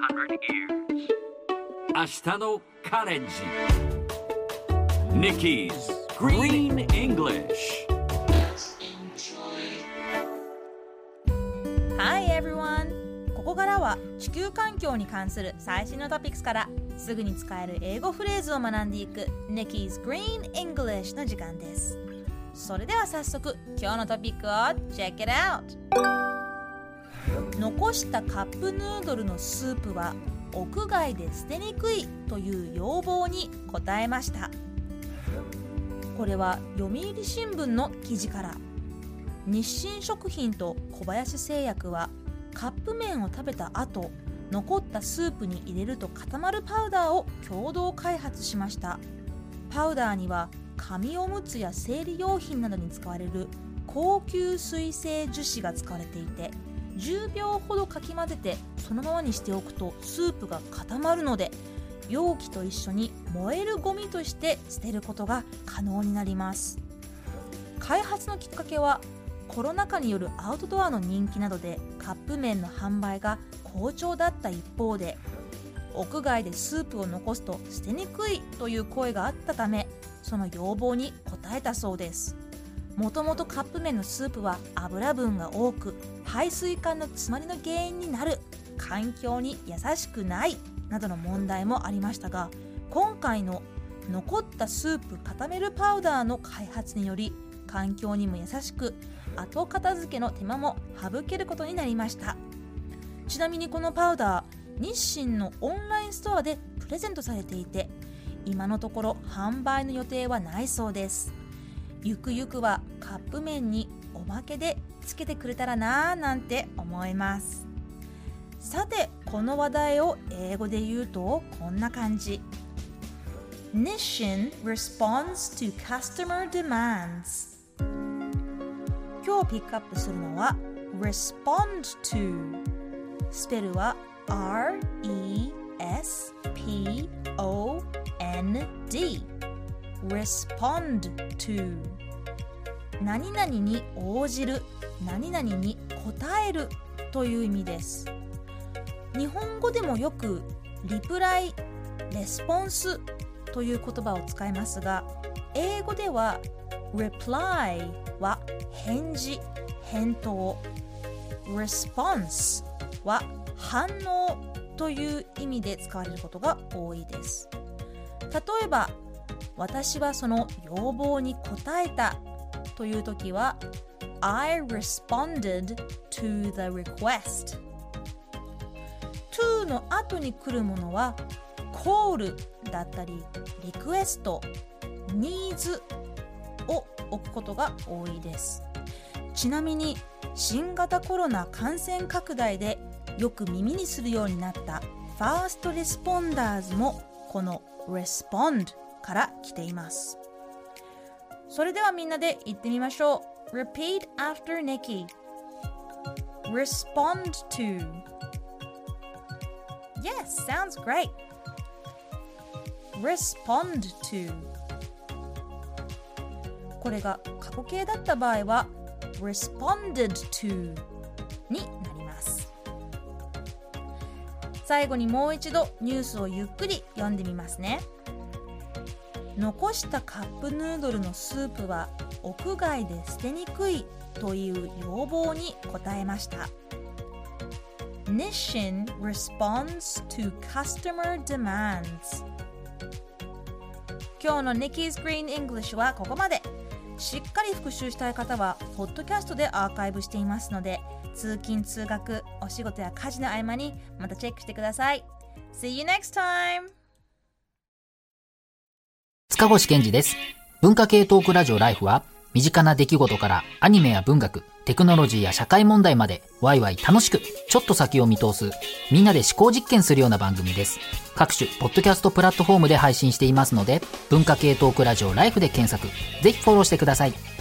明日のカレンジ Nikki's Green English. Hi everyone! ここからは地球環境に関する最新のトピックスからすぐに使える英語フレーズを学んでいく Nikki's Green English の時間です。それでは早速今日のトピックを Check it out! 残したカップヌードルのスープは屋外で捨てにくいという要望に応えました。これは読売新聞の記事から。日清食品と小林製薬はカップ麺を食べた後、残ったスープに入れると固まるパウダーを共同開発しました。パウダーには紙おむつや生理用品などに使われる高級水性樹脂が使われていて、10秒ほどかき混ぜてそのままにしておくとスープが固まるので、容器と一緒に燃えるゴミとして捨てることが可能になります。開発のきっかけはコロナ禍によるアウトドアの人気などでカップ麺の販売が好調だった一方で、屋外でスープを残すと捨てにくいという声があったため、その要望に応えたそうです。もともとカップ麺のスープは油分が多く、排水管の詰まりの原因になる、環境に優しくないなどの問題もありましたが、今回の残ったスープ固めるパウダーの開発により環境にも優しく、後片付けの手間も省けることになりました。ちなみにこのパウダー、日清のオンラインストアでプレゼントされていて、今のところ販売の予定はないそうです。ゆくゆくはカップ麺におまけでつけてくれたらなぁなんて思います。さて、この話題を英語で言うとこんな感じ。Nissin responds to customer demands。 今日ピックアップするのは respond to。 スペルは R-E-S-P-O-N-D。 respond to。 何々に応じる、何々に答えるという意味です。日本語でもよくリプライ、レスポンスという言葉を使いますが、英語では reply は返事、返答、response は反応という意味で使われることが多いです。例えば、私はその要望に応えたというときは I responded to the request。 to の後に来るものは call だったりリクエスト、needs を置くことが多いです。ちなみに新型コロナ感染拡大でよく耳にするようになったファーストレスポンダーズもこの respondから来ています。それではみんなで言ってみましょう。 Repeat after Nikki。 Respond to。 Yes, sounds great。 Respond to。 これが過去形だった場合は responded to になります。最後にもう一度ニュースをゆっくり読んでみますね。残したカップヌードルのスープは屋外で捨てにくいという要望に応えました。 Nissin responds to customer demands。 今日の Nikki's Green English はここまで。しっかり復習したい方はポッドキャストでアーカイブしていますので、通勤通学、お仕事や家事の合間にまたチェックしてください。 See you next time。 塚越健二です。文化系トークラジオライフは、身近な出来事からアニメや文学、テクノロジーや社会問題までワイワイ楽しく、ちょっと先を見通す、みんなで思考実験するような番組です。各種ポッドキャストプラットフォームで配信していますので、文化系トークラジオライフで検索、ぜひフォローしてください。